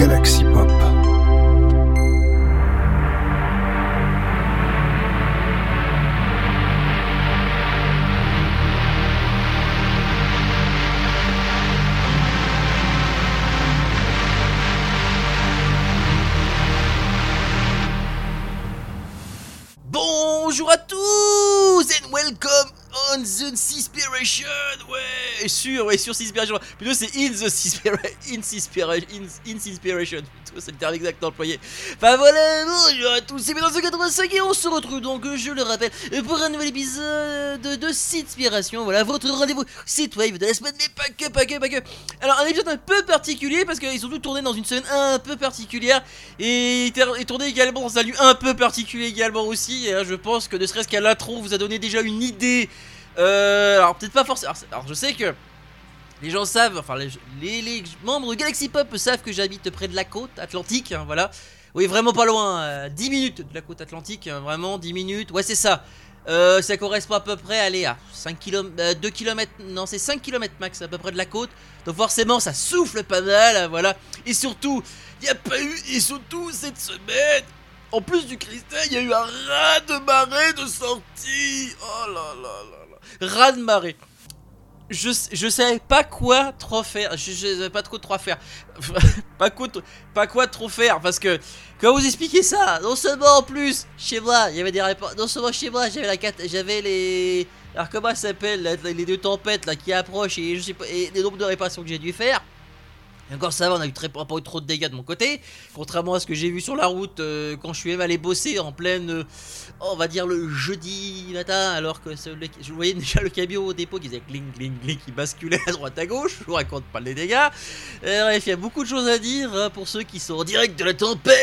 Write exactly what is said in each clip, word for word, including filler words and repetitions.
Galaxy Pop. Bonjour à tous and welcome on the Seaspiration. Ouais, sur, ouais, sur Seaspiration. Plutôt c'est in the Seaspiration. In Seaspiration. In, in Seaspiration. C'est le terme exact employé. Enfin voilà, bonjour à tous. C'est mille neuf cent quatre-vingt-cinq et on se retrouve donc, je le rappelle, pour un nouvel épisode de Seaspiration. Voilà, votre rendez-vous Synthwave de la semaine, mais pas que, pas que, pas que. Alors, un épisode un peu particulier parce qu'ils ont tous tourné dans une semaine un peu particulière et, et tourné également dans un lieu un peu particulier également aussi. Et, hein, je pense que ne serait-ce qu'à l'intro vous a donné déjà une idée. Euh, alors peut-être pas forcément. Alors, alors je sais que les gens savent, enfin les, les, les membres de Galaxy Pop savent que j'habite près de la côte atlantique, hein, voilà. Oui, vraiment pas loin, euh, dix minutes de la côte atlantique, hein, vraiment dix minutes, ouais c'est ça. Euh, ça correspond à peu près, allez, à cinq kilomètres, euh, deux kilomètres, non c'est cinq kilomètres max à peu près de la côte. Donc forcément ça souffle pas mal, hein, voilà. Et surtout, il n'y a pas eu, et surtout cette semaine, en plus du cristal, il y a eu un raz de marée de sortie. Oh là là là là, raz de marée. Je, je savais pas quoi trop faire, je, je savais pas trop trop faire, pas quoi, pas quoi trop faire, parce que, quand vous expliquez ça, non seulement en plus, chez moi, il y avait des réponses, non seulement chez moi, j'avais la carte, j'avais les, alors comment ça s'appelle, les deux tempêtes là qui approchent et je sais pas, et les nombres de réparations que j'ai dû faire. Et encore ça va, on a eu très, pas eu trop de dégâts de mon côté, contrairement à ce que j'ai vu sur la route euh, quand je suis même allé bosser en pleine, euh, on va dire le jeudi matin, alors que le, je voyais déjà le camion au dépôt qui faisait gling gling gling, qui basculait à droite à gauche. Je vous raconte pas les dégâts. Euh, bref, il y a beaucoup de choses à dire hein, pour ceux qui sont en direct de la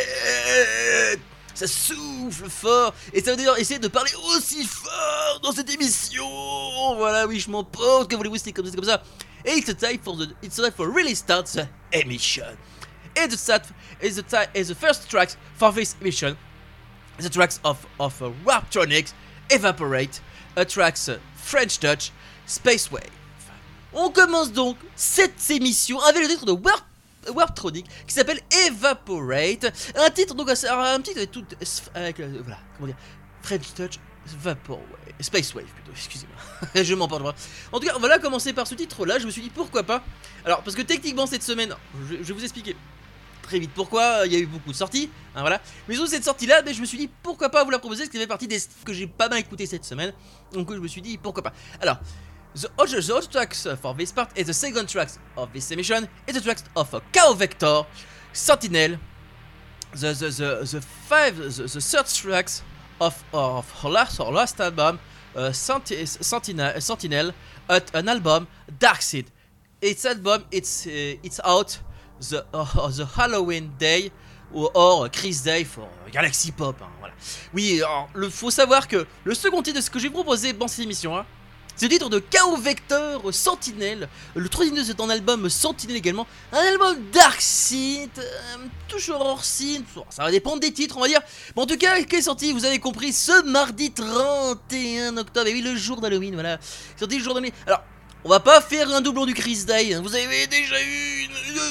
tempête. Ça souffle fort et ça veut dire essayer de parler aussi fort dans cette émission. Voilà, oui, je m'en porte. Que voulez-vous, c'est comme ça, c'est comme ça. It's time for the it's time for really start the emission. And the start is the time is the first tracks for this emission. The tracks of of uh, Warptronics, Evaporate, a tracks uh, French Touch, Space Wave. On commence donc cette émission avec le titre de Warp Warptronic qui s'appelle Evaporate, un titre donc un titre tout avec euh, voilà, comment dire, French Touch, Vapor Wave, Space Wave plutôt, excusez-moi. Je m'en parle pas. En tout cas, on va là commencer par ce titre-là. Je me suis dit pourquoi pas. Alors, parce que techniquement cette semaine, je, je vais vous expliquer très vite pourquoi. Il y a eu beaucoup de sorties, hein, voilà. Mais sur cette sortie-là, ben, je me suis dit pourquoi pas vous la proposer, parce qu'elle fait partie des que j'ai pas mal écouté cette semaine. Donc je me suis dit pourquoi pas. Alors, the other, the other tracks for this part is the second tracks of this emission is the tracks of uh, Chaos Vector, Sentinel, the the the the five the, the third tracks of of her last her last album. Uh, Senti- Sentinel, Sentinel at an album Darkseid. Its album it's uh, it's out the uh, the Halloween Day or, or Chris Day for Galaxy Pop. Hein, voilà. Oui, alors, le faut savoir que le second titre de ce que j'ai proposé dans cette émission, hein, c'est le titre de Chaos Vector Sentinel. Le troisième titre c'est un album Sentinel également, un album Darkseid, euh, toujours hors synth. Ça va dépendre des titres, on va dire. Mais en tout cas, qui est sorti, vous avez compris, ce mardi trente et un octobre. Et oui, le jour d'Halloween, voilà. Sorti le jour d'Halloween. Alors, on va pas faire un doublon du Chris Day. Vous avez déjà eu une, une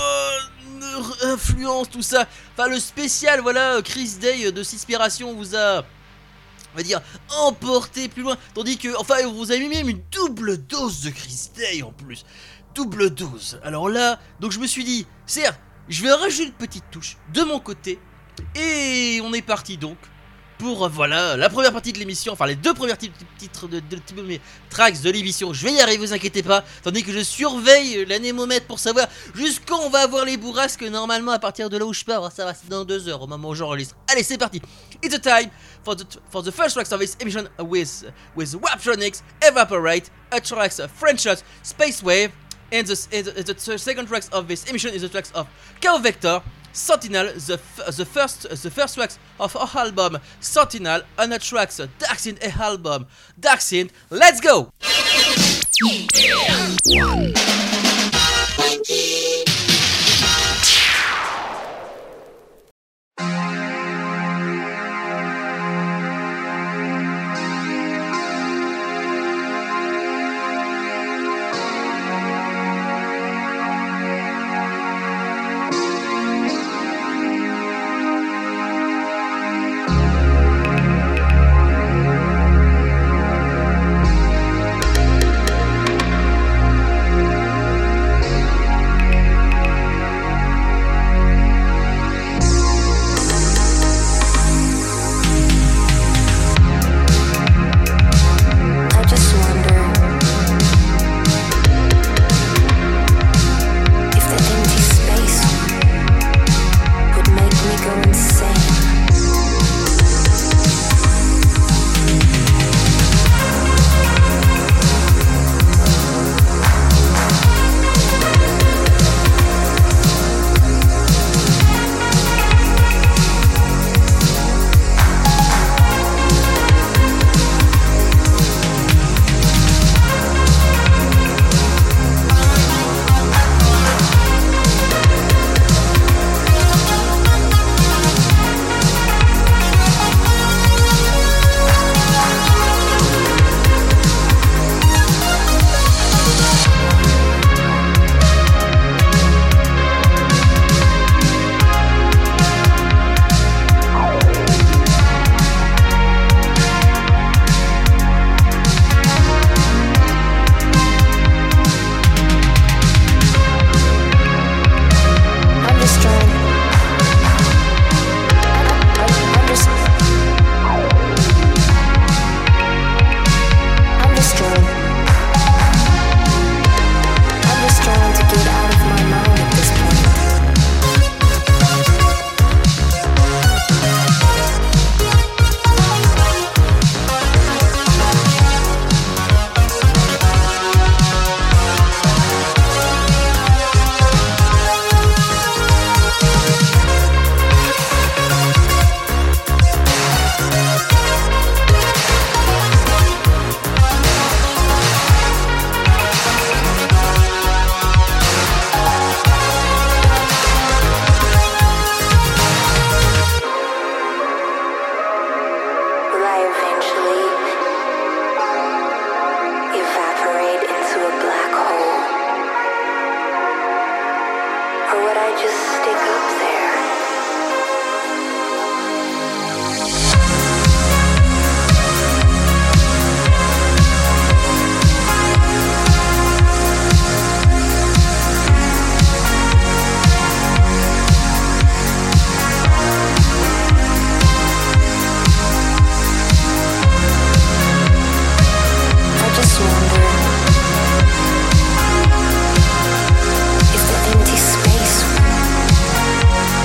bonne influence, tout ça. Enfin, le spécial, voilà, Chris Day de Seaspiration vous a, on va dire, emporté plus loin. Tandis que, enfin, vous avez même une double dose de Chris Day en plus. Double dose. Alors là, donc je me suis dit, certes, je vais rajouter une petite touche de mon côté. Et on est parti donc pour, voilà, la première partie de l'émission. Enfin, les deux premiers titres de, de, de, de mes tracks de l'émission. Je vais y arriver, vous inquiétez pas. Tandis que je surveille l'anémomètre pour savoir jusqu'où on va avoir les bourrasques. Normalement, à partir de là où je pars, ça va, c'est dans deux heures au moment où j'enregistre. Allez, c'est parti. It's a time for the for the first tracks of this emission with with Warptronics, Evaporate, a tracks of French Touch, Space Wave, and the, the, the second tracks of this emission is the tracks of Chaos Vector, Sentinel, the the first the first tracks of our album Sentinel, and the tracks Darkseid album Darkseid. Let's go. Or would I just stick up there? I just wonder if the empty space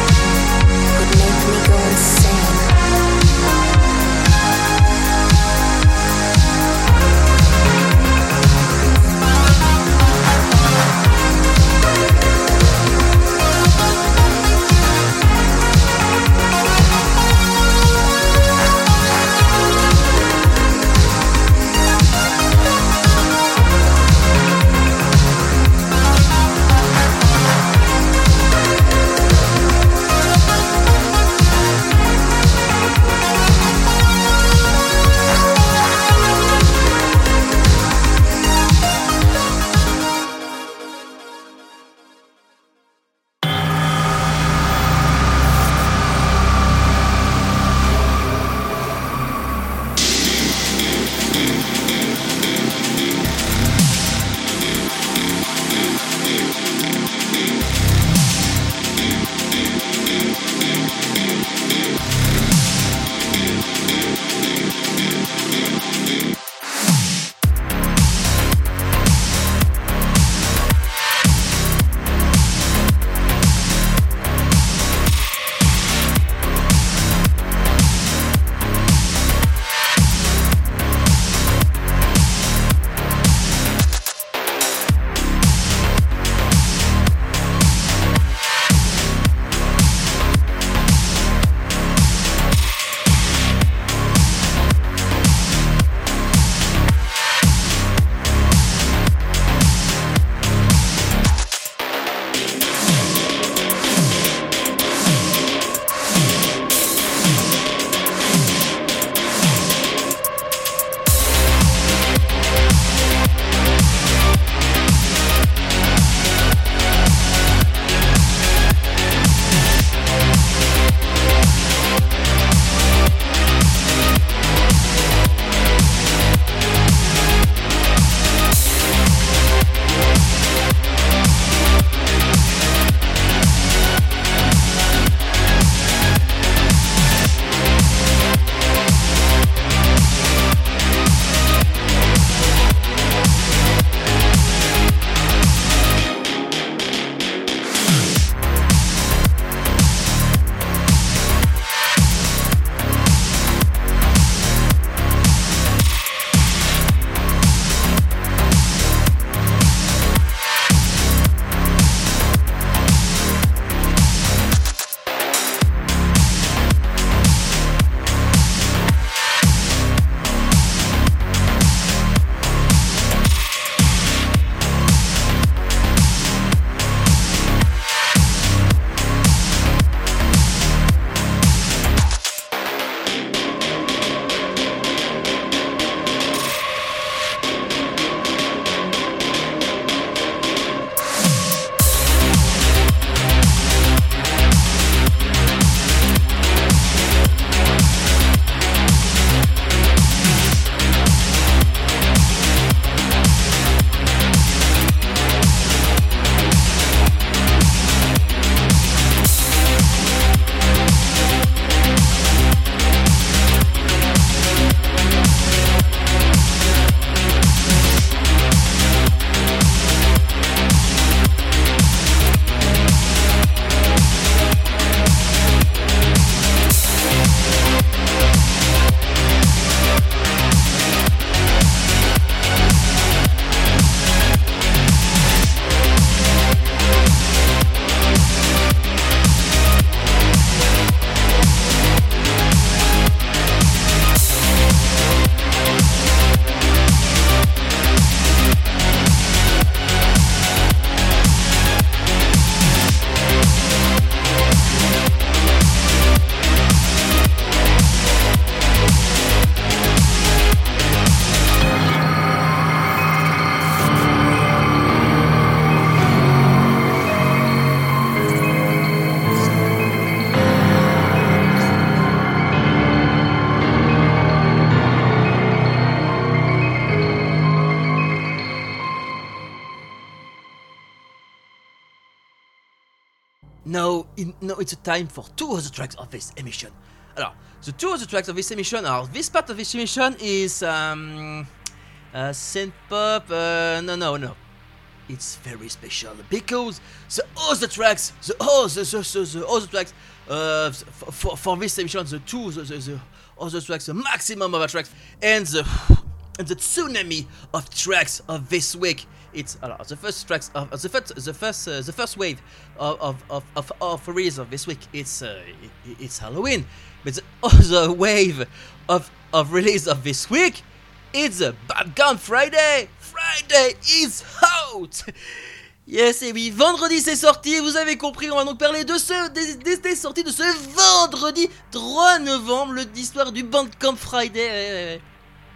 now, in, now it's a time for two other tracks of this emission. Alors, the two other tracks of this emission are, this part of this emission is um, uh, synth pop, uh, no, no, no. It's very special because the other tracks, the other, the, the, the other tracks, uh, for, for, for this emission, the two, the, the, the other tracks, the maximum of the tracks, and the, and the tsunami of tracks of this week. It's uh, the first tracks of uh, the first, the first, uh, the first wave of of of of, of release of this week. It's uh, it, it's Halloween, but the other wave of of release of this week, it's a Bad Gun Friday. Friday is out. Yes, et oui, vendredi c'est sorti, vous avez compris, on va donc parler de ce, des, des, des sorties de ce vendredi trois novembre, l'histoire du Bandcamp Friday. Ouais, ouais, ouais.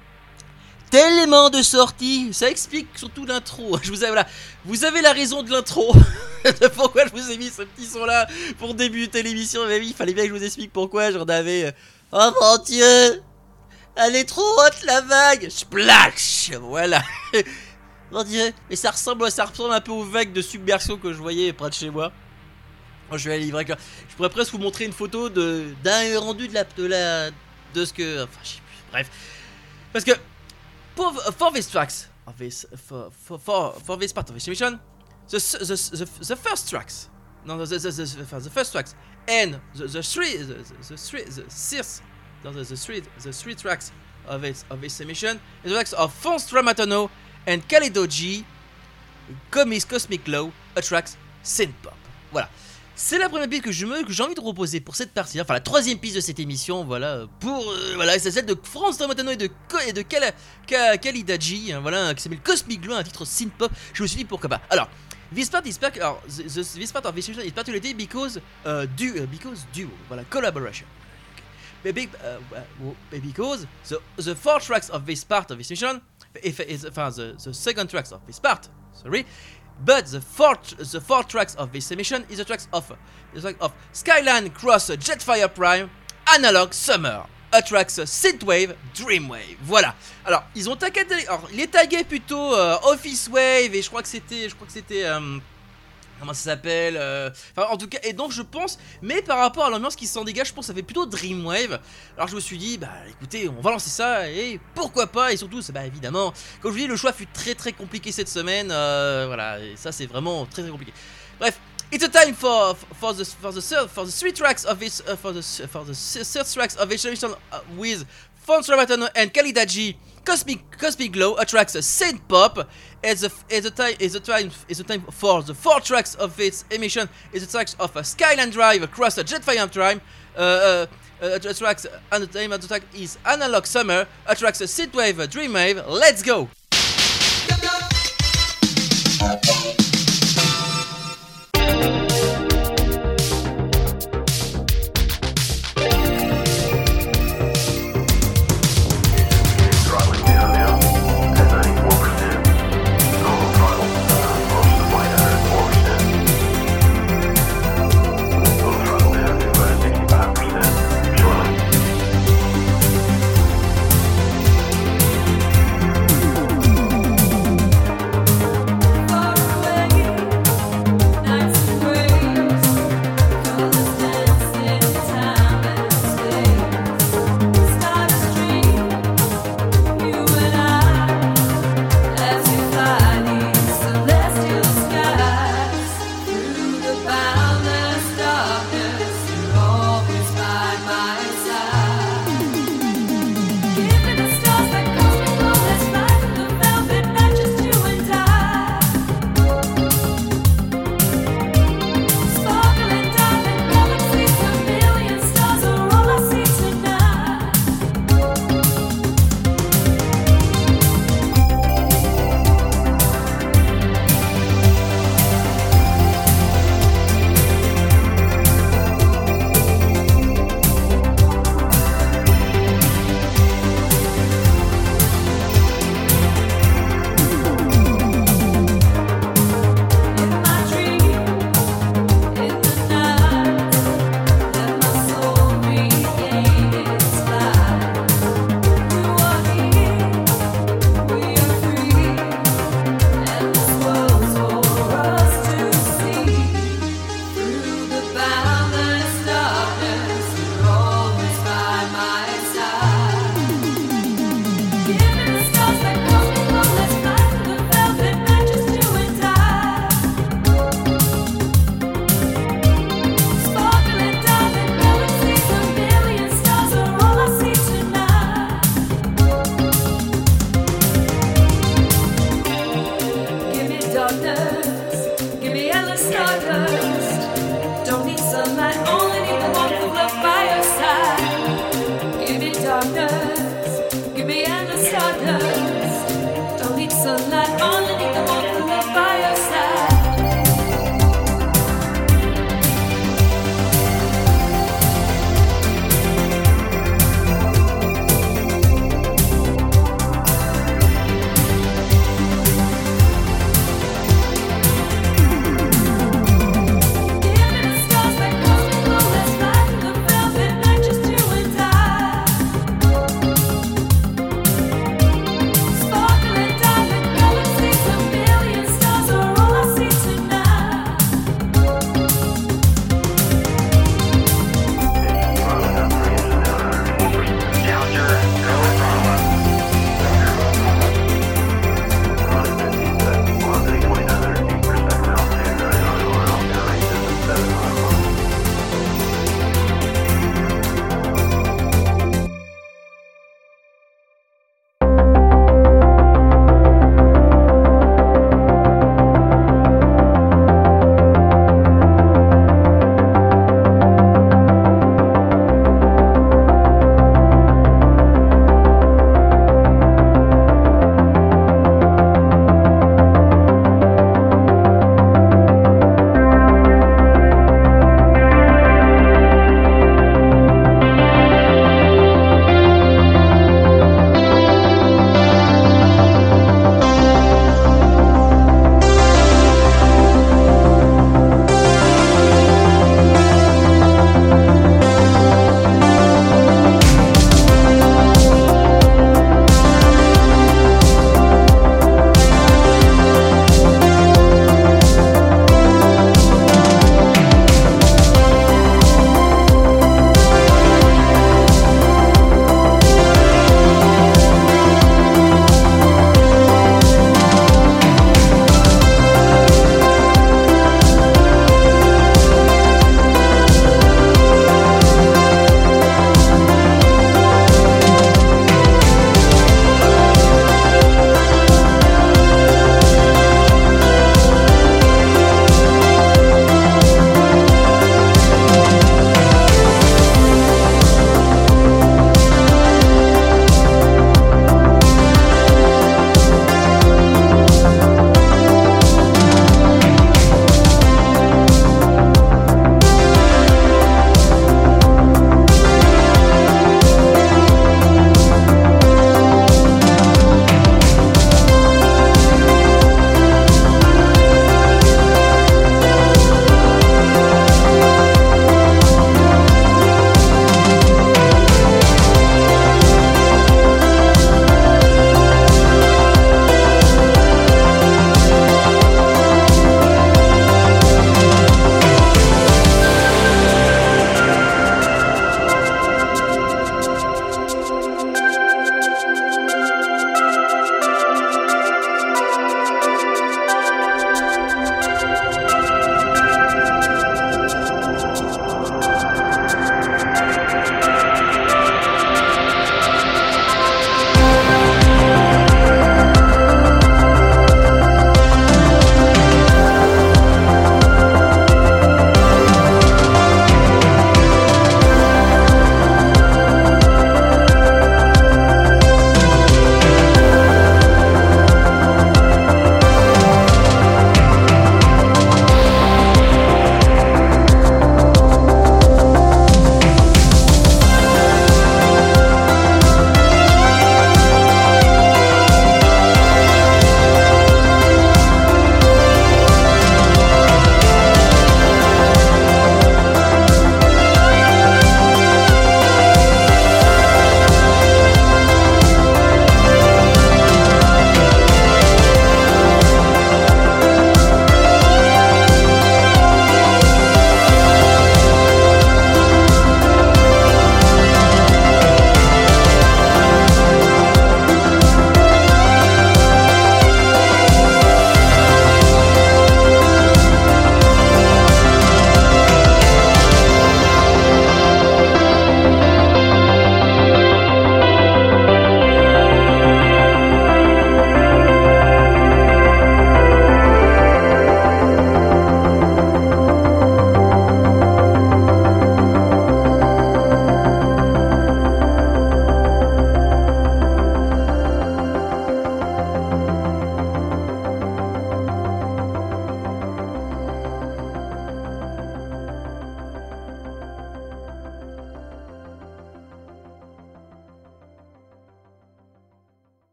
Tellement de sorties, ça explique surtout l'intro. Je vous ai, voilà, vous avez la raison de l'intro. De pourquoi je vous ai mis ce petit son là pour débuter l'émission. Mais oui, il fallait bien que je vous explique pourquoi j'en avais. Oh mon Dieu, elle est trop haute la vague. Splash, voilà. Mon Dieu, mais ça ressemble, ça ressemble un peu aux vagues de submersion que je voyais près de chez moi. Oh, je vais aller livrer. Je pourrais presque vous montrer une photo de d'un rendu de la de la de ce que. Enfin, je sais plus. Bref, parce que. For, for these tracks of this for, for, for, for this part of this emission, the the, the, the first tracks, no, the, the, the, the first tracks, and the, the three the, the three the six the, the, the three the three tracks of this of this emission, the tracks of Fonz Tramatano and Kalido G, Comics Cosmic Low, a tracks synth pop. Voilà. C'est la première piste que je me, que j'ai envie de proposer pour cette partie, enfin la troisième piste de cette émission, voilà, pour, euh, voilà, c'est celle de Fonz Tramatano et de, et de Kal, Kal, Kalidaji, hein, voilà, qui s'appelle Cosmic Glow, un titre synth pop, je me suis dit pourquoi pas. Alors, this part is, alors, the, the, this part of this is particularly because, uh, du, uh, because duo, voilà, collaboration. Okay. Big, uh, uh, because the, the four tracks of this part of this mission, if, is, enfin, the, the second tracks of this part, sorry, but the four the four tracks of this emission is the tracks of the track of Skyline Cross Jetfire Prime, Analog Summer, a tracks Synthwave, Dreamwave. Voilà. Alors ils ont tagué, alors il est tagué plutôt euh, Office Wave et je crois que c'était, je crois que c'était euh, comment ça s'appelle euh... Enfin en tout cas, et donc je pense, mais par rapport à l'ambiance qui s'en dégage, je pense que ça fait plutôt Dreamwave. Alors je me suis dit, bah écoutez, on va lancer ça, et pourquoi pas, et surtout, bah évidemment, comme je vous dis, le choix fut très très compliqué cette semaine, euh, voilà, et ça c'est vraiment très très compliqué. Bref, it's a time for for the for the third, for the three tracks of this uh, for the for the third tracks of this edition uh, with Fonz Tramatano and Kalidaji, Cosmic Cosmic Glow, a tracks synth pop. It's a it's a time it's a time it's a time for the four tracks of its emission. It's the tracks of a Skyline Drive across a Jetfire Prime. Uh, uh, uh, the tracks and the name of the track is Analog Summer. A tracks Synthwave, Dreamwave. Let's go. Far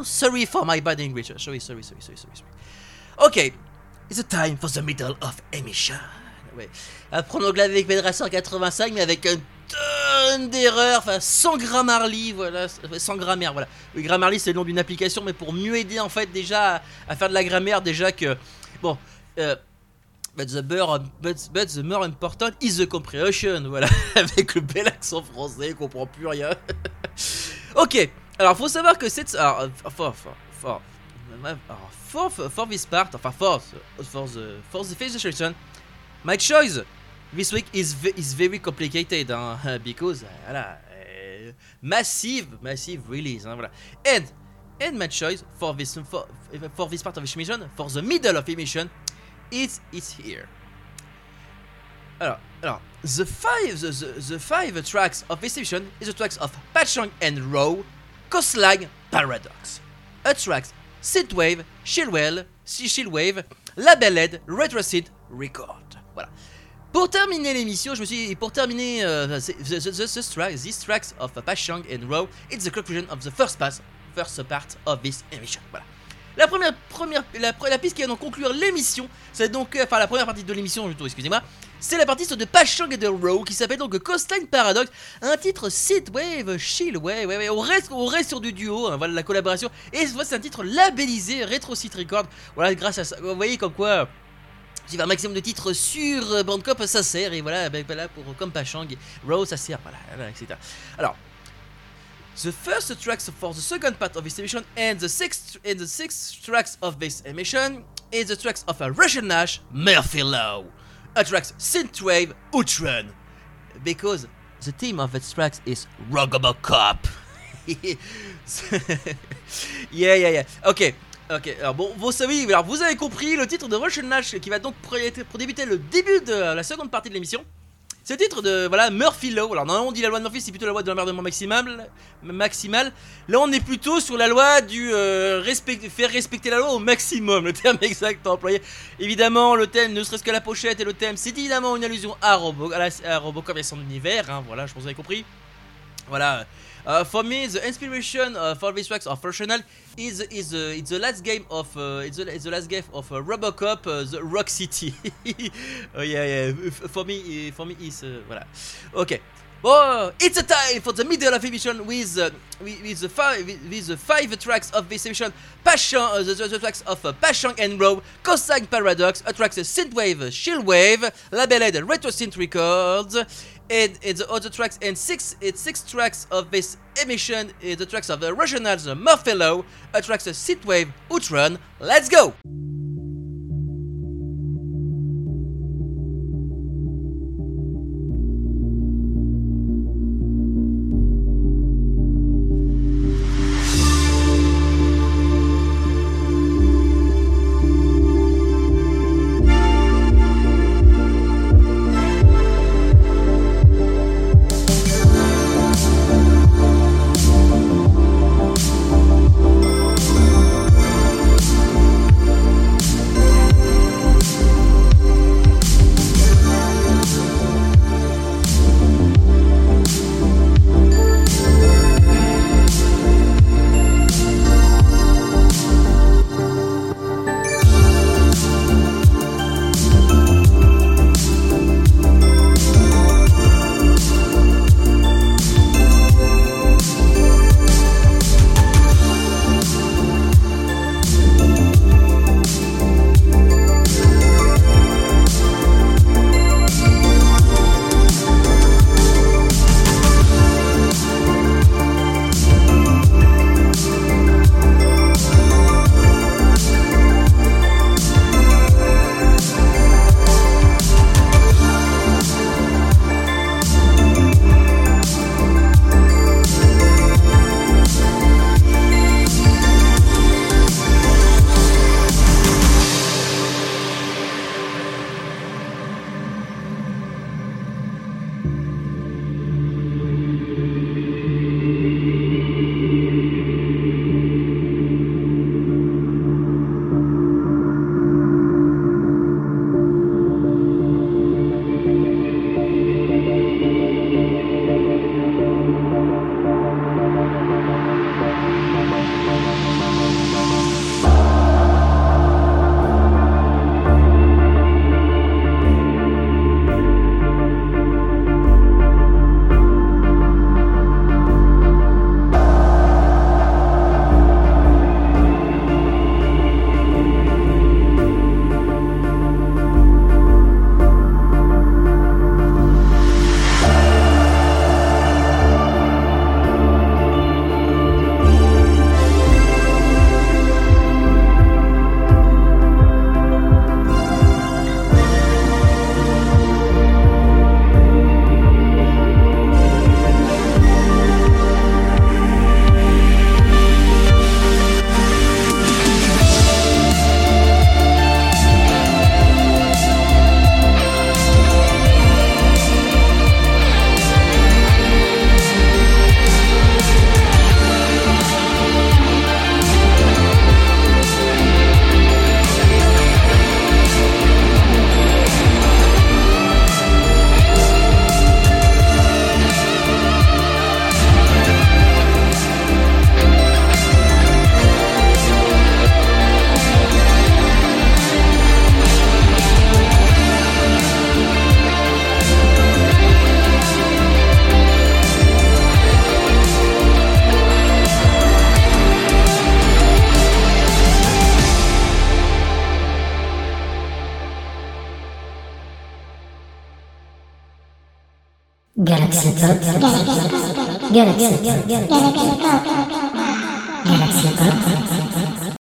sorry for my bad English. Sorry, sorry, sorry, sorry, sorry. sorry. Okay, it's a time for the middle of emission. Ouais. Apprendre l'anglais avec Pedracer quatre-vingt-cinq, mais avec un tonne d'erreurs, enfin sans Grammarly, voilà, sans grammaire, voilà. Oui, Grammarly c'est le nom d'une application, mais pour mieux aider en fait déjà à, à faire de la grammaire, déjà que bon. Euh, But the, more, but, but the more important is the comprehension. Voilà, avec le bel accent français, on comprend plus rien. Ok, alors faut savoir que cette. Alors, for, for, for, for, for, for this part, enfin, for, for the, for the illustration, my choice this week is, is very complicated, hein, because, voilà, uh, massive, massive release, hein, voilà. And, and my choice for this, for, for this part of this mission, for the middle of the mission, It's, it's here. Alors, alors, the five, the, the, the five tracks of this edition is the tracks of Pachang and Row, Coastline Paradox, a tracks Synthwave, Chillwell, Chillwave, Labeled, Retrocede, Record. Voilà. Pour terminer l'émission, je me suis pour terminer uh, the, the, the, the track, these tracks of Pachang and Row, it's the conclusion of the first pass, first part of this emission. Voilà. La première, première, la, la piste qui va donc conclure l'émission, c'est donc, euh, enfin la première partie de l'émission, plutôt, excusez-moi, c'est la partie de Pachang et de Row qui s'appelle donc Coastline Paradox, un titre Synthwave, Chillwave, ouais, ouais, on reste, on reste sur du duo, hein, voilà la collaboration, et c'est un titre labellisé Retrocede Record, voilà, grâce à ça, vous voyez comme quoi. Si un maximum de titres sur Bandcamp, ça sert, et voilà, ben, voilà pour, comme Pachang, Row, ça sert, voilà, voilà, et cetera. Alors. The first tracks for the second part of this emission and the sixth and the sixth tracks of this emission is the tracks of a Russian Nash, Murphy Law, a tracks Synthwave, Outrun, because the theme of its tracks is Robocop. yeah, yeah, yeah. Ok, ok. Alors bon, vous savez, alors vous avez compris le titre de Russian Nash qui va donc pour, pour débuter le début de la seconde partie de l'émission. C'est le titre de, voilà, Murphy Law. Alors normalement on dit la loi de Murphy, c'est plutôt la loi de l'emmerdement maximal, maximal. Là on est plutôt sur la loi du euh, respect, faire respecter la loi au maximum, le terme exact employé. Évidemment le thème, ne serait-ce que la pochette et le thème, c'est évidemment une allusion à, Robo, à, la, à Robocop et son univers, hein, voilà, je pense que vous avez compris. Voilà. Uh, for me, the inspiration uh, for these tracks of Rational is is uh, it's the last game of uh, it's, the, it's the last game of uh, Robocop, uh, the Rock City. Oh yeah, yeah. For me, for me is uh, voilà. Okay. Oh, it's a time for the middle of emission with uh, with, with the five with, with the five tracks of this emission. Pachang, uh, the, the, the tracks of uh, Pachang and Row, Coastline Paradox, a tracks uh, Synthwave, Chillwave, Labeled Retrosynth Records. And, and the other tracks and six it's six tracks of this emission is the tracks of the Rationals, Murphy Law, a tracks of Synthwave, Outrun. Let's go! Galaxy Pop. Galaxy Pop. Galaxy Pop.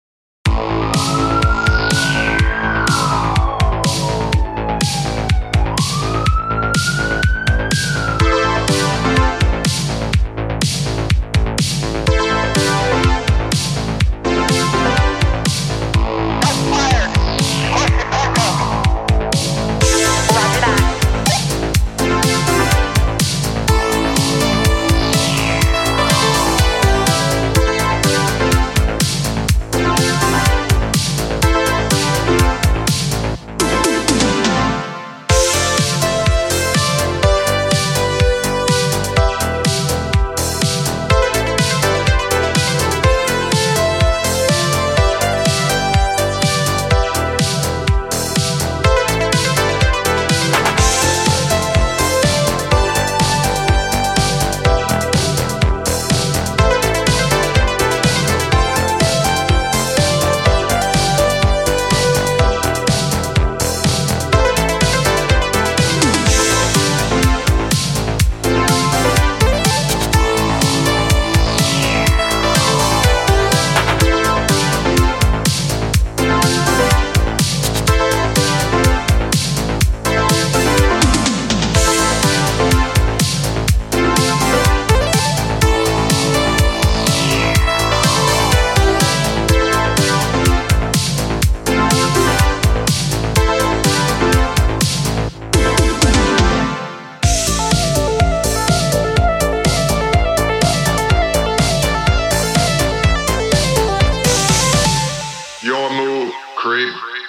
Your move, creep.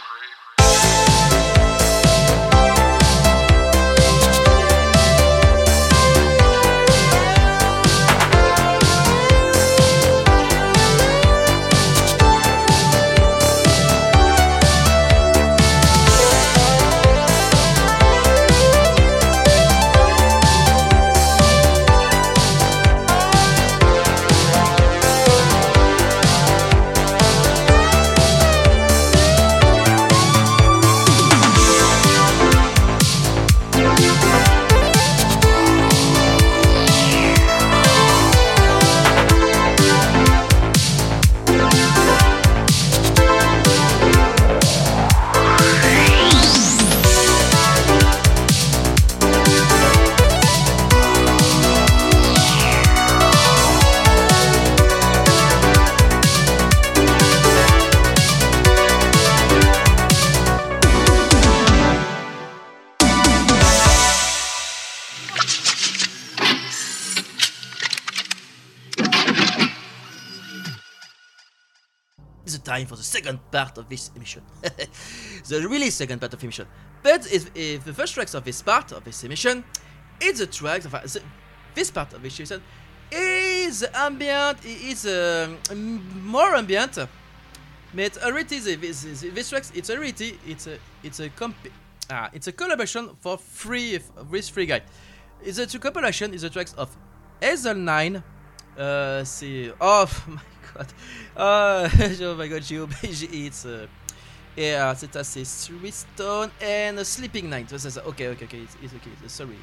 It's time for the second part of this emission. The really second part of the emission. But if, if the first tracks of this part of this emission, it's the tracks of uh, the, this part of this emission is ambient, it's uh, more ambient. But already the, this, this tracks, it's already it's a it's a comp ah it's a collaboration for free with free guy. It's a compilation is the tracks of Hazel Nine. Uh, c'est oh my god. Uh, oh my god, it's uh, yeah, c'est assez Three Stone and Sleeping Night. Okay, okay, okay, it's, it's okay. Sorry.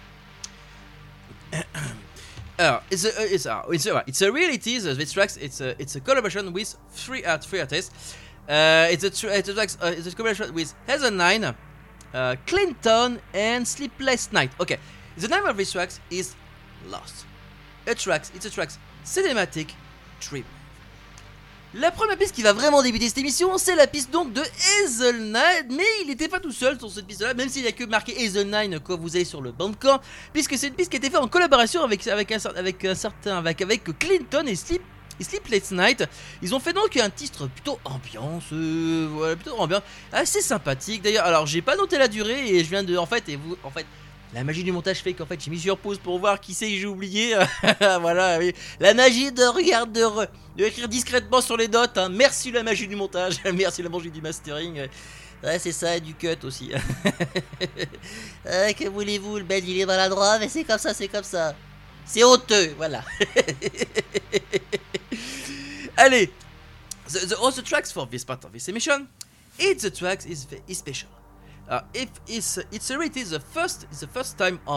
Uh, it's a, it's a, it's a, it's a reality. Uh, this tracks, it's a, it's a collaboration with three art, three artists. Uh, it's a, tra- it's a tracks, uh, it's a collaboration with Hazel Nine, uh, Clinton, and Sleepless Night. Okay, the name of this tracks is Lost. A tracks, it's a tracks cinematic dream. La première piste qui va vraiment débuter cette émission, c'est la piste donc de Hazel Nine, mais il n'était pas tout seul sur cette piste-là, même s'il n'y a que marqué Hazel Nine quand vous allez sur le Bandcamp, puisque c'est une piste qui a été faite en collaboration avec, avec, un, avec un certain, avec, avec Clinton et Sleep, et Sleepless Night. Ils ont fait donc un titre plutôt ambiance, euh, voilà, plutôt ambiance, assez sympathique d'ailleurs. Alors j'ai pas noté la durée et je viens de, en fait, et vous, en fait. La magie du montage fait qu'en fait j'ai mis sur pause pour voir qui c'est que j'ai oublié. Voilà, oui. La magie de regarde de, re, de écrire discrètement sur les notes. Hein. Merci la magie du montage, merci la magie du mastering. Ouais, c'est ça, et du cut aussi. Ah, que voulez-vous, le bel il est maladroit, mais c'est comme ça, c'est comme ça. C'est honteux, voilà. Allez, the, the other tracks for this part of this emission, it's the tracks is is special. Uh, if it's it's already the first it's the first time on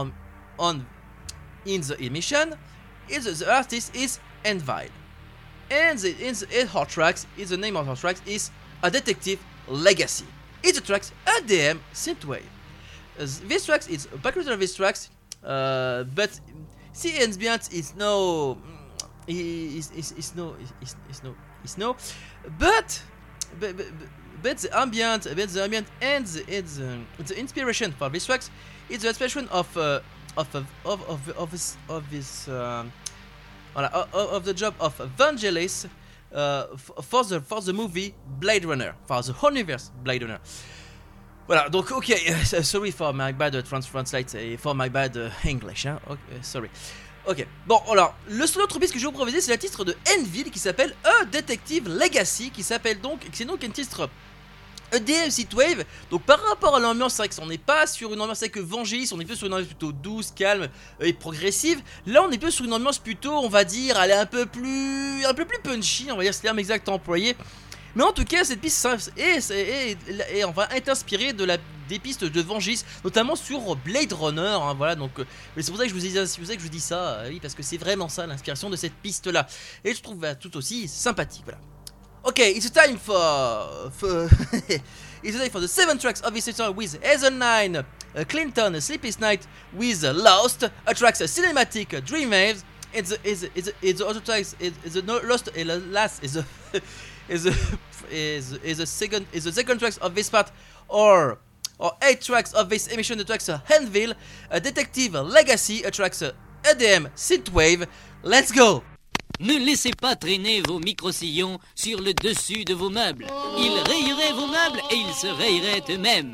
on in the emission. Is the, the artist is Envil, and the in the hot tracks is the name of the tracks is A Detective Legacy. It's the tracks A D M Synthwave. Uh, this tracks is a background of this tracks, uh, but the ambient is no, is is is no is is no is no, but but. but But the ambient, but the ambient and the, it's, um, the inspiration for this tracks is the inspiration of uh, of of of of of this of this um, voilà, of, of the job of Vangelis uh, for the for the movie Blade Runner, for the universe Blade Runner. Voilà, donc ok, uh, sorry for my bad uh, trans translate et for my bad uh, English, hein. Okay, sorry. Ok, bon alors, le seul autre piste que je vais vous proposer, c'est le titre de Envil qui s'appelle A Detective Legacy, qui s'appelle donc, c'est donc un titre E D M Synthwave. Donc par rapport à l'ambiance, c'est vrai qu'on n'est pas sur une ambiance avec Vangelis, on est plus sur une ambiance plutôt douce, calme et progressive. Là on est plus sur une ambiance plutôt, on va dire, elle est un peu plus, un peu plus punchy, on va dire, c'est le terme exact employé. Mais en tout cas, cette piste est, est, est, est, on va être inspirée de la, des pistes de Vangelis, notamment sur Blade Runner. Hein, voilà, donc euh, c'est pour ça que je vous dis, c'est pour ça que je vous dis ça, euh, oui, parce que c'est vraiment ça l'inspiration de cette piste-là, et je trouve bah, tout aussi sympathique. Voilà. Ok, it's time for, for it's time for the seven tracks of this song with Heather Nine, uh, Clinton, Sleepless Night with uh, Lost, a tracks uh, cinematic uh, Dream Waves. It's the, it's the, it's the, it's the other tracks is is the no, Lost and the last is the is the is is the second is the second tracks of this part or or eight tracks of this emission. The tracks uh, Anvil, a Detective Legacy, a tracks uh, A D M Synthwave. Let's go. Ne laissez pas traîner vos micro-sillons sur le dessus de vos meubles. Ils rayeraient vos meubles et ils se rayeraient eux-mêmes.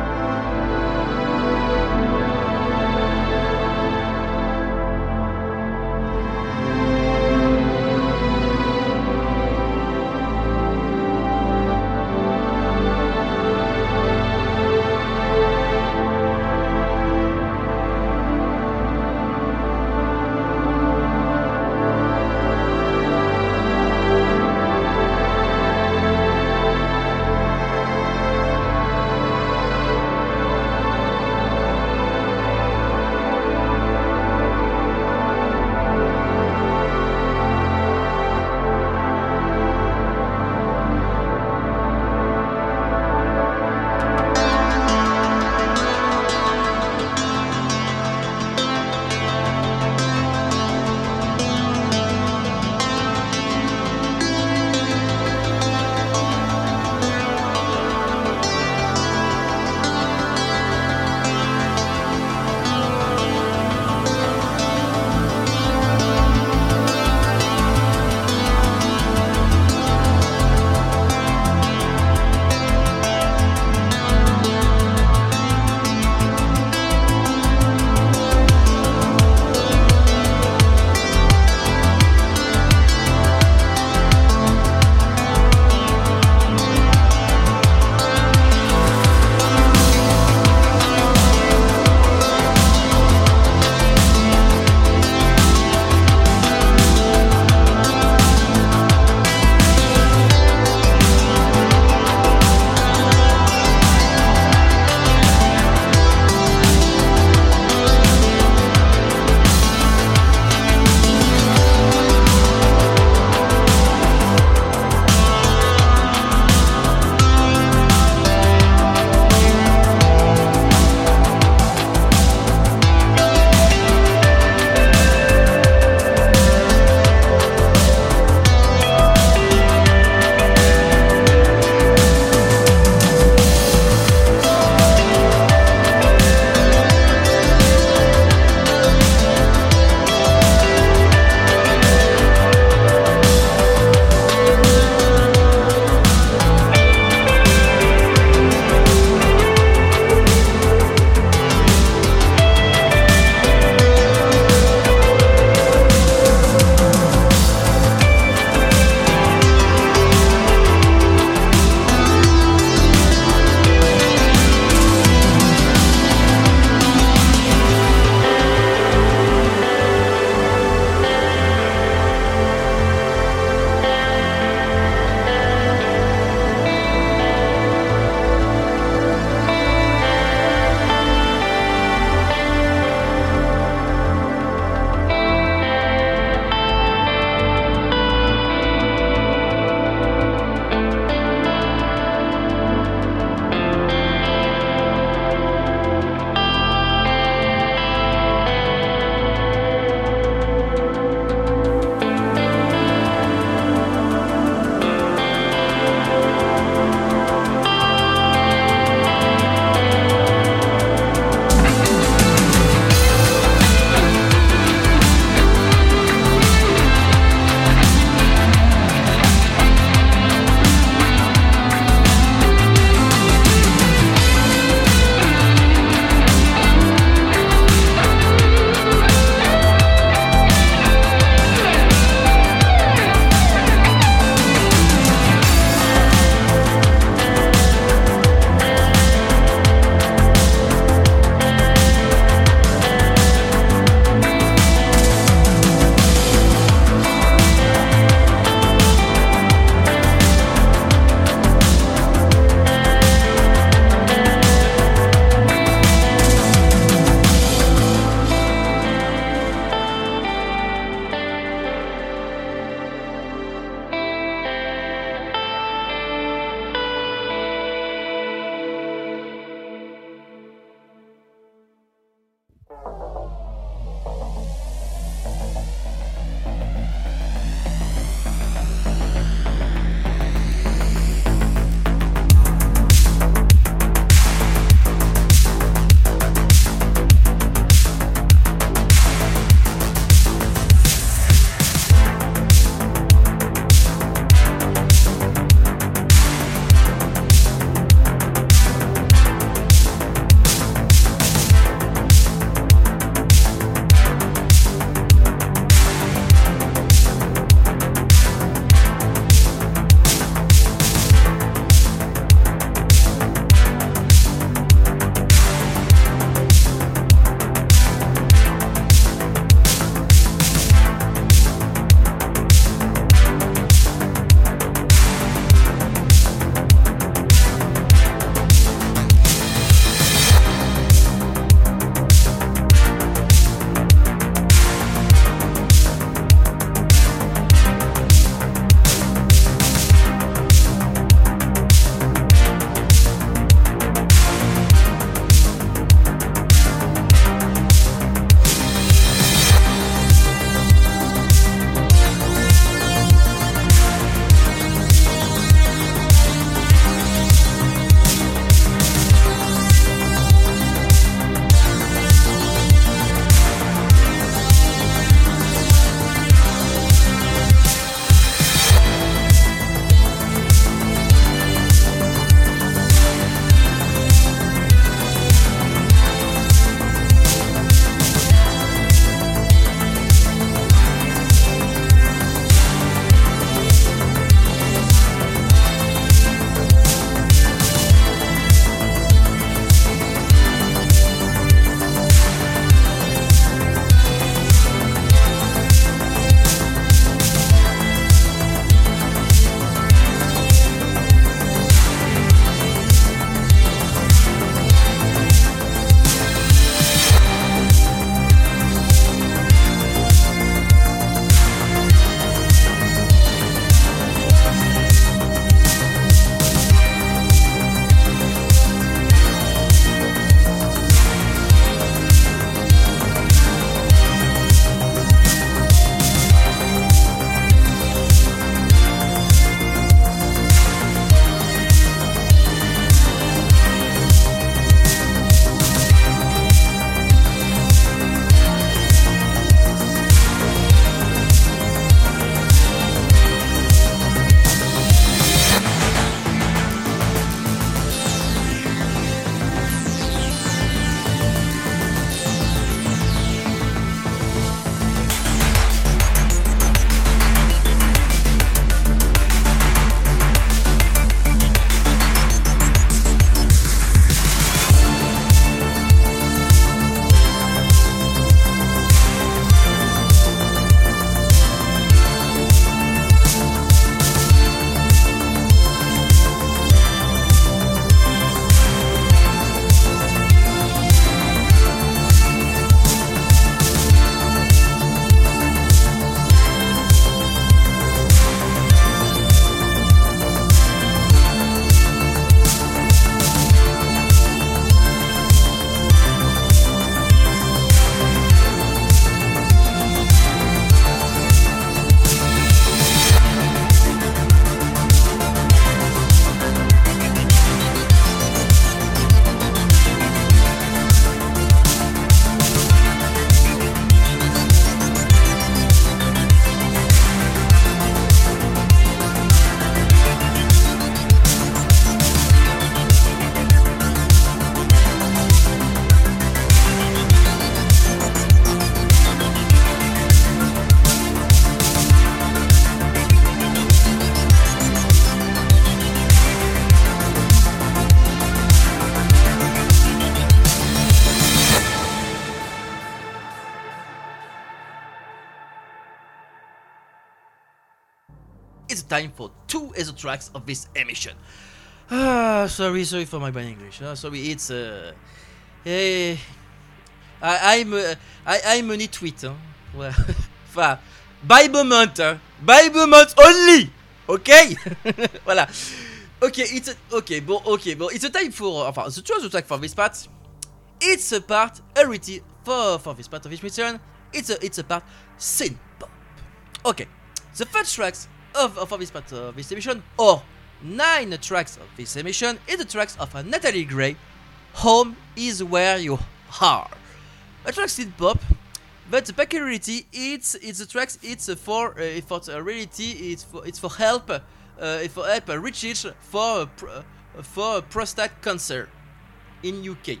it's time for two other tracks of this emission. Ah, sorry, sorry for my bad English. Ah, sorry, it's uh, hey, I, I'm uh, I, I'm a nitwit. Hein. Voilà. Enfin, by moment, hein. By moment only. Okay. Voilà. Okay, it's a, okay, bon, okay, bon, it's a time for, uh, enfin, the two other track for this part. It's a part already for for this part of this mission. It's a it's a part synth pop. Okay, the first tracks of of this part of this emission, or nine tracks of this emission, is the tracks of uh, Natalie Gray. Home is where you are. A track synth pop, but the peculiarity it's it's the tracks it's uh, for uh, for uh, reality it's for it's for help uh, for help uh, research for uh, pr- uh, for prostate cancer in U K.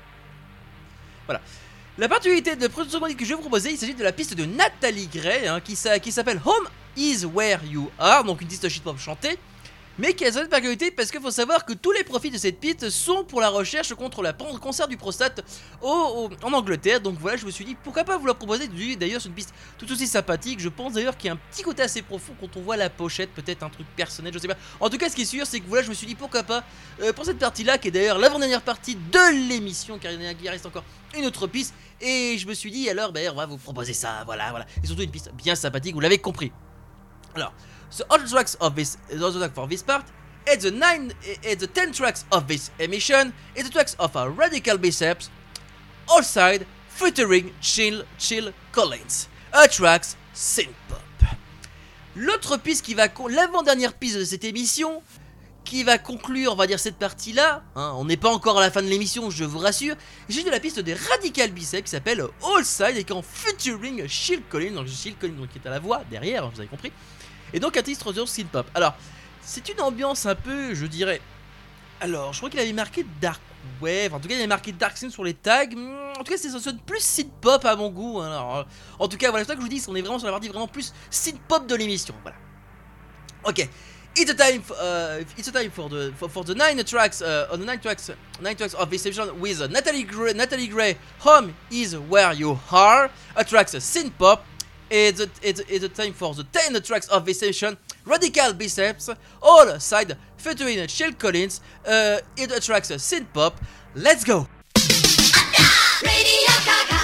Voilà. La particularité de production que je vais vous proposer, il s'agit de la piste de Natalie Gray, hein, qui, qui s'appelle Home is Where You Are, donc une piste shit-pop chantée, mais qui a cette particularité parce qu'il faut savoir que tous les profits de cette piste sont pour la recherche contre le cancer du prostate au, au, en Angleterre. Donc voilà, je me suis dit pourquoi pas vous la proposer. D'ailleurs, c'est une piste tout aussi sympathique. Je pense d'ailleurs qu'il y a un petit côté assez profond quand on voit la pochette, peut-être un truc personnel, je sais pas. En tout cas, ce qui est sûr, c'est que voilà, je me suis dit pourquoi pas euh, pour cette partie-là, qui est d'ailleurs l'avant-dernière partie de l'émission, car il reste encore une autre piste. Et je me suis dit alors, ben, on va vous proposer ça, voilà, voilà. Et surtout une piste bien sympathique, vous l'avez compris. Alors, the other tracks of this, the other track for this part, and the nine, and the ten tracks of this emission, and the tracks of our Radical Biceps, all side featuring Chill, Chill Collins, a tracks synth pop. L'autre piste qui va, con- l'avant-dernière piste de cette émission, qui va conclure, on va dire, cette partie-là, hein, on n'est pas encore à la fin de l'émission, je vous rassure, il s'agit de la piste des Radical Biceps qui s'appelle All Side et qui est en featuring Chill Collins, donc Chill Collins donc, qui est à la voix derrière, vous avez compris. Et donc un titre de synth pop. Alors, c'est une ambiance un peu, je dirais. Alors, je crois qu'il avait marqué Dark Wave. En tout cas, il avait marqué Dark Synth sur les tags. En tout cas, c'est ça sonne plus synth pop à mon goût. Alors, en tout cas, voilà, c'est ça que je vous dis. On est vraiment sur la partie vraiment plus synth pop de l'émission. Voilà. Ok. It's a time. For, uh, it's a time for the for, for the nine tracks. Uh, on the nine tracks, nine tracks of this session with uh, Natalie Gray. Natalie Gray. Home is where you are. A tracks uh, synth pop. It's a, it's, a, it's a time for the ten tracks of this session. Radical Biceps, all side featuring Chill Collins. Uh, it attracts a synth pop. Let's go. Radio Gaga.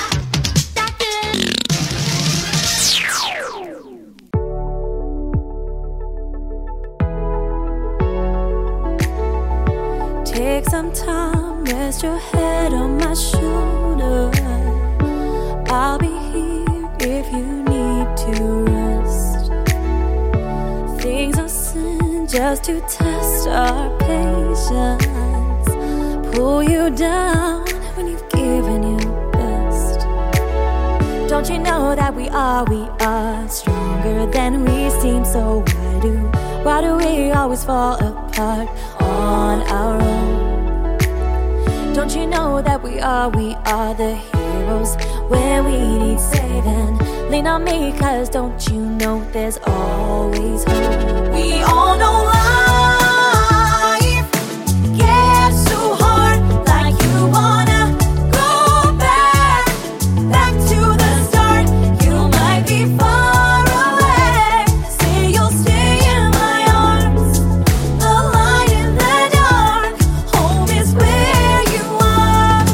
Take some time, rest your head on my shoulder. I'll be here if you need to rest. Things are sin just to test our patience. Pull you down when you've given your best. Don't you know that we are, we are stronger than we seem? So why do, why do we always fall apart on our own? Don't you know that we are, we are the heroes when we need saving? Lean on me, cause don't you know there's always hope. We all know life gets so hard, like you wanna go back, back to the start. You might be far away, say you'll stay in my arms, the light in the dark. Home is where you are.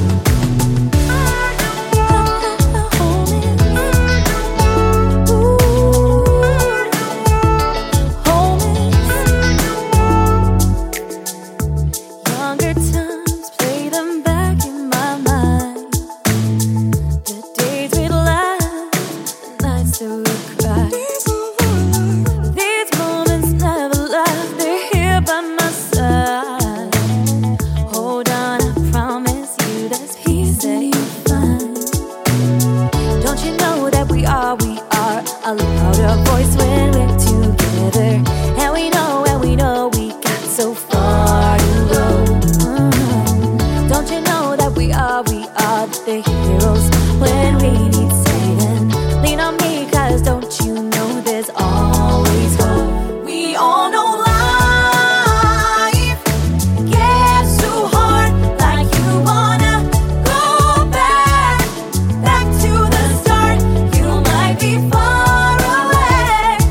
Home is, ooh, home is. Younger times, play them back in my mind. The days we'd laugh, the nights that we'd cry. These moments never last, they're here by my side. Hold on, I promise you there's peace that you'll find. Don't you know that we are, we are a louder voice when we're together. And we know, and we know we got so far to go. Mhm. Don't you know that we are, we are the heroes when we need saving? Lean on me, cause don't you know there's always hope. We all know life gets so hard, like you wanna go back, back to the start. You might be far away,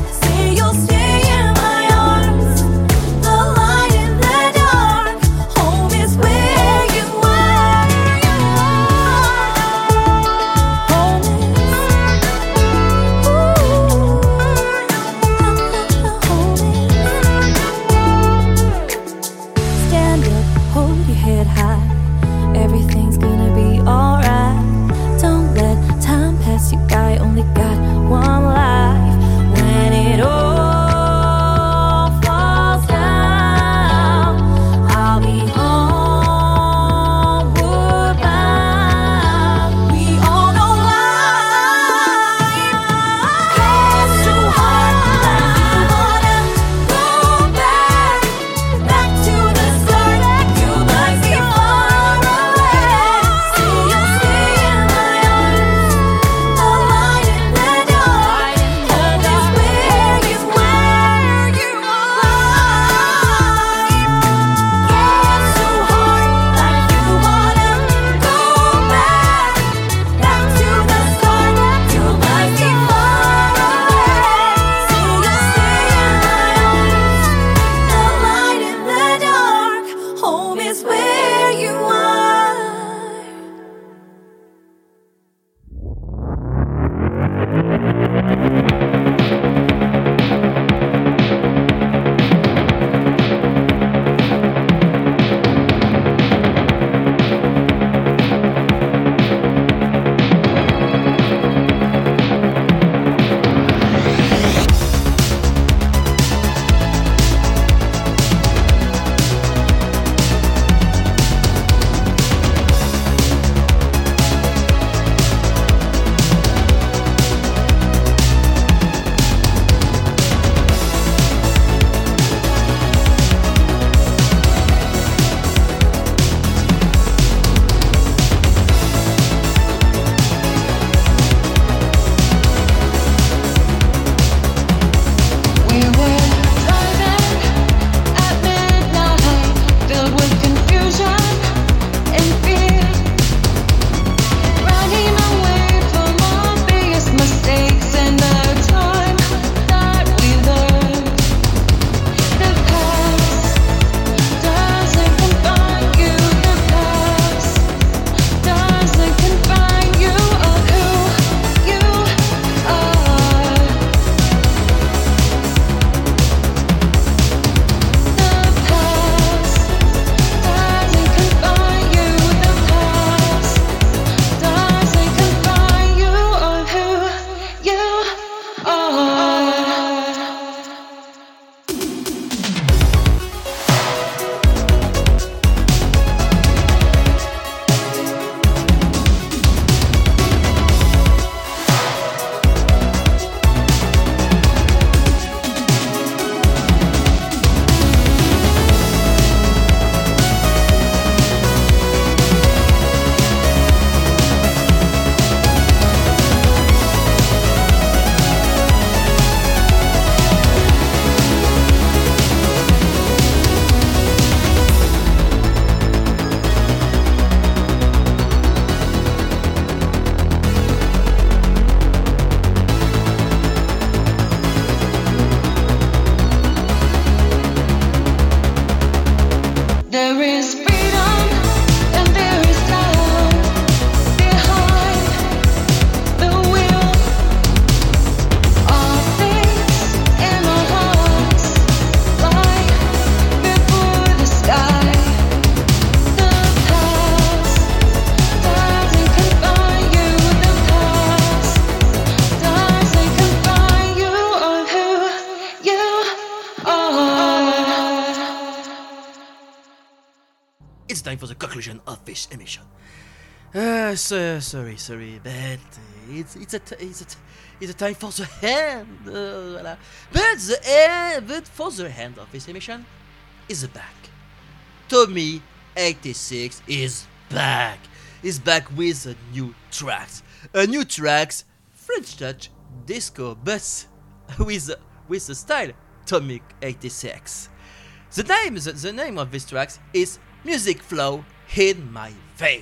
time for the conclusion of this emission. Uh, so, sorry, sorry, but it's it's a t- it's a t- it's a time for the end. Uh, voilà. But the end, but for the end of this emission is back. Tommy eighty-six is back. Is back with a new tracks, a new tracks, French touch, disco, but with with the style Tommy eighty-six. The name the, the name of this tracks is Music Flow in My Vein.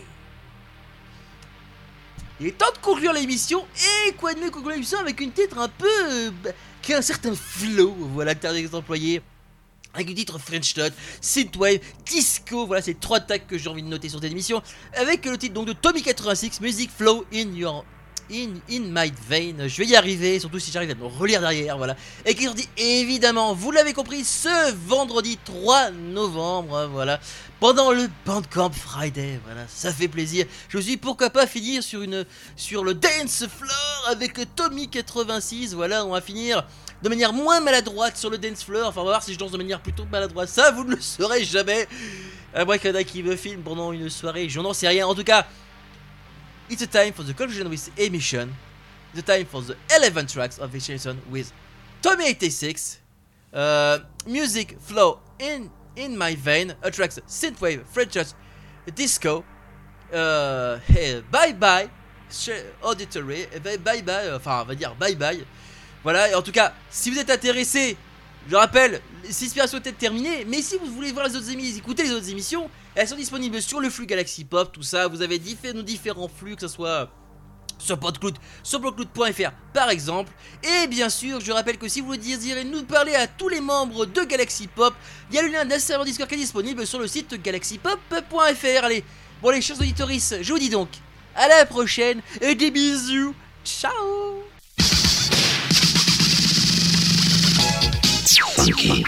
Il est temps de conclure l'émission, et quoi de mieux conclure l'émission avec une titre un peu... Euh, qui a un certain flow, voilà, que t'as des employés, avec une titre French Touch, Synthwave, Disco, voilà, c'est trois tags que j'ai envie de noter sur cette émission, avec le titre donc de Tommy quatre-vingt-six, Music Flow in Your... In, in My Vein. Je vais y arriver, surtout si j'arrive à me relire derrière, voilà. Et qui dit évidemment, vous l'avez compris, ce vendredi trois novembre, voilà, pendant le Bandcamp Friday, voilà, ça fait plaisir. Je me suis dit, pourquoi pas finir sur une sur le dance floor avec Tommy quatre-vingt-six, voilà, on va finir de manière moins maladroite sur le dance floor. Enfin, on va voir si je danse de manière plutôt maladroite, ça vous ne le saurez jamais. À moins qu'il y en a qui me filment pendant une soirée, je n'en sais rien. En tout cas, it's a time for the conclusion with emission. The time for the eleven tracks of this emission with Tommy eighty-six. Uh, music flow in in my vein. A tracks synthwave, French touch, disco. Uh, hey, bye bye, auditory. Bye bye, bye. Enfin, on va dire bye bye. Voilà. Et en tout cas, si vous êtes intéressé, je rappelle, Cispirations est peut-être terminée, mais si vous voulez voir les autres émissions, écouter les autres émissions, elles sont disponibles sur le flux Galaxy Pop, tout ça. Vous avez diffé- nos différents flux, que ce soit sur Podcloud, sur Podcloud point F R par exemple. Et bien sûr, je rappelle que si vous désirez nous parler à tous les membres de Galaxy Pop, il y a le lien d'un serveur Discord qui est disponible sur le site galaxy pop point F R. Allez, bon les chers auditeurs, je vous dis donc à la prochaine et des bisous. Ciao. Funky.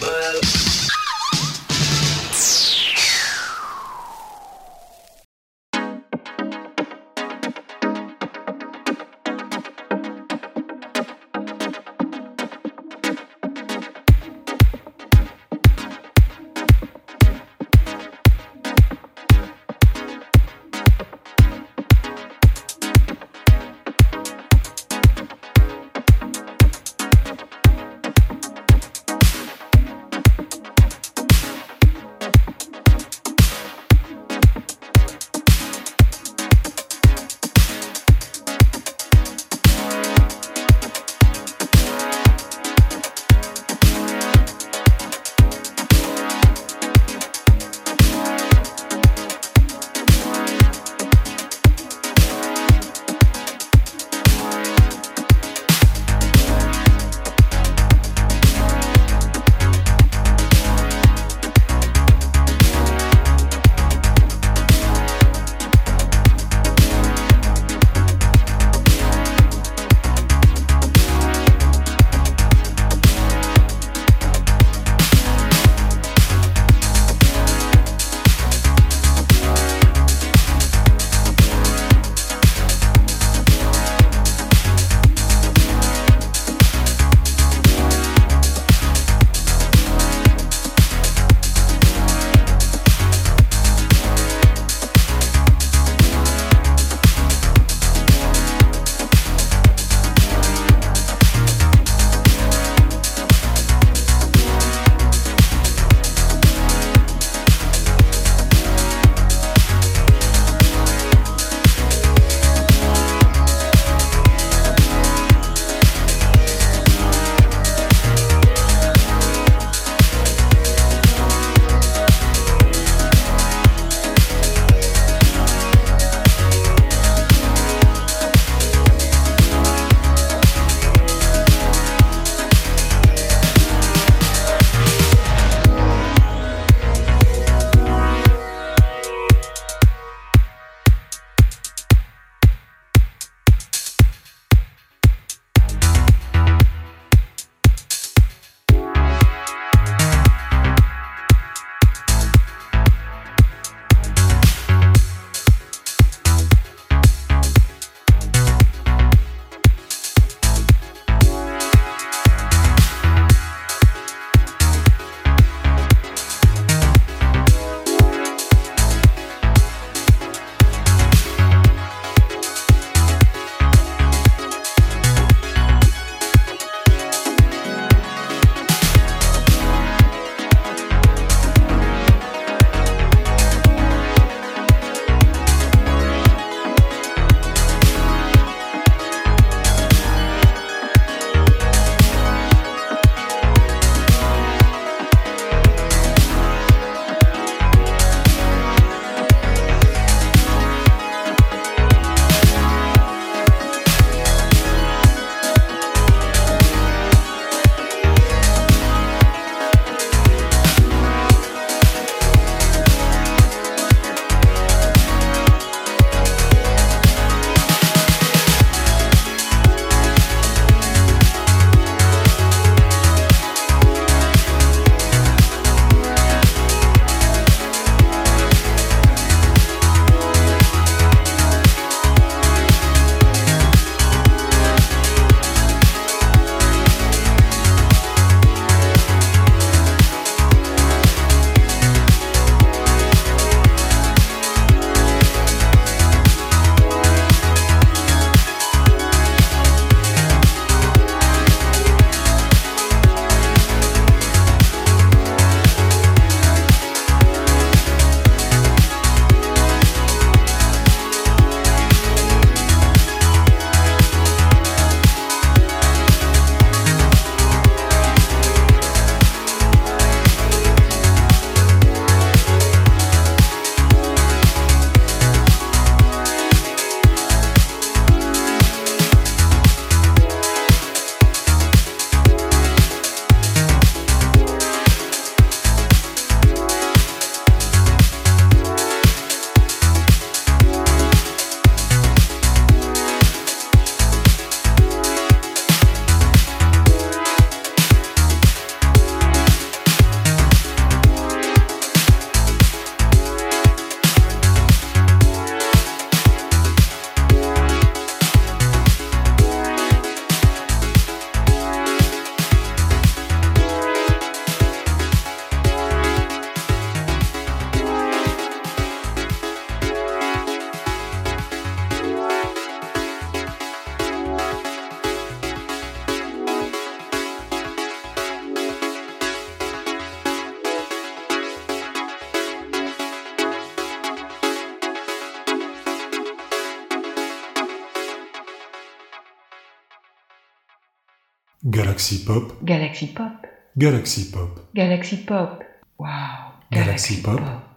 Galaxy Pop, Galaxy Pop, Galaxy Pop, Galaxy Pop. Wow, Galaxy Pop.